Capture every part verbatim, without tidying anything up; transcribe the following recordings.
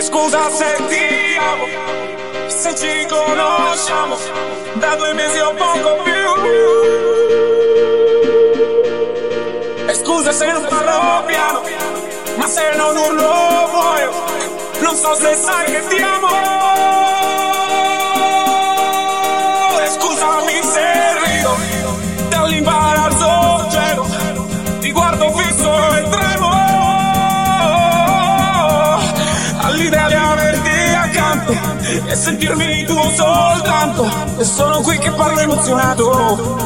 Scusa se ti amo, se ci conosciamo da due mesi o poco più. E scusa se non parlo piano, ma se non urlo muoio. Non so se sai che ti amo. E scusami se rido dall'imbarazzo gelo, ti guardo fisso e tremo all'idea di averti accanto e sentirmi tuo soltanto. E sono qui che parlo emozionato.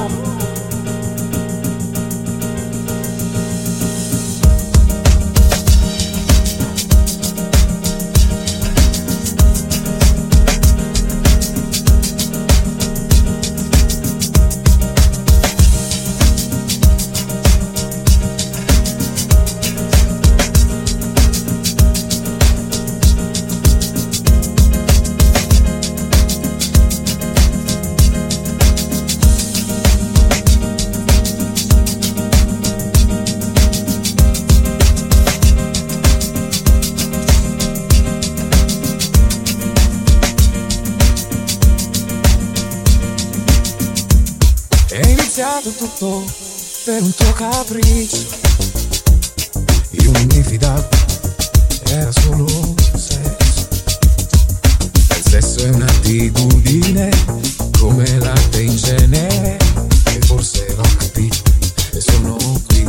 Tutto per un tuo capriccio. Io non mi fidavo, era solo sesso. Il sesso è un'attitudine come latte in genere, e forse l'ho capito e sono qui.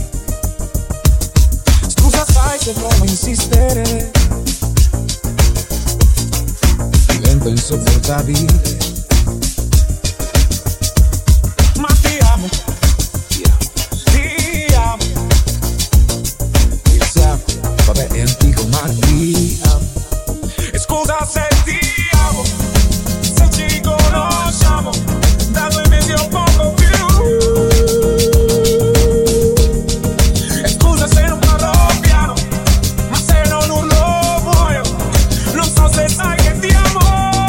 Scusa sai se provo a insistere, diventa insopportabile. Ma ti amo, vabbè è antico ma ti amo. E scusa se ti amo, se ci conosciamo da due mesi o poco più. E scusa se non parlo piano, ma se non urlo muoio. Non so se sai che ti amo.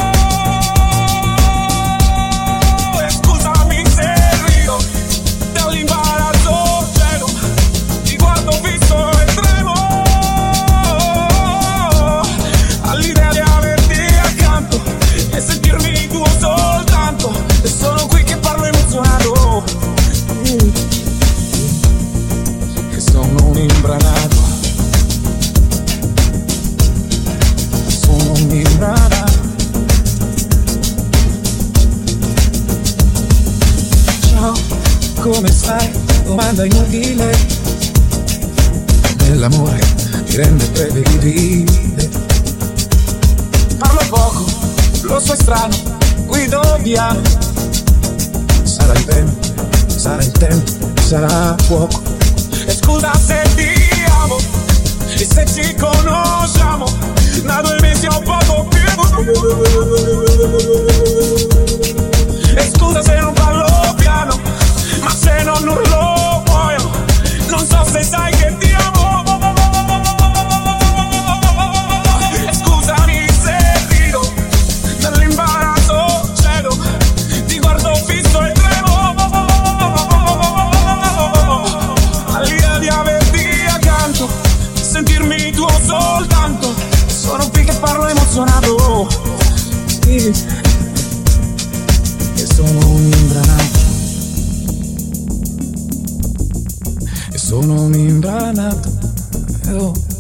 E scusami se rido dall'imbarazzo gelo, ti guardo fisso e tremo all'idea di averti accanto e sentirmi tuo soltanto. E sono qui che parlo emozionato, che sono un imbranato, sono un imbranato. Ciao, come stai? Domanda inutile, nell'amore ti rende prevedibile. parlo poco, lo so è strano, guido piano. Sarà il vento, sarà il tempo, sarà fuoco. E scusa se ti amo, e se ci conosciamo da due mesi o poco più. E scusa se non parlo piano, ma se non urlo muoio. Non so se sai che ti amo. E scusami se rido dall'imbarazzo cielo, ti guardo fisso e tremo all'idea di averti accanto, sentirmi tuo soltanto. Sono qui che parlo emozionato, Sì, che sono un imbranato, e sono un imbranato. Oh.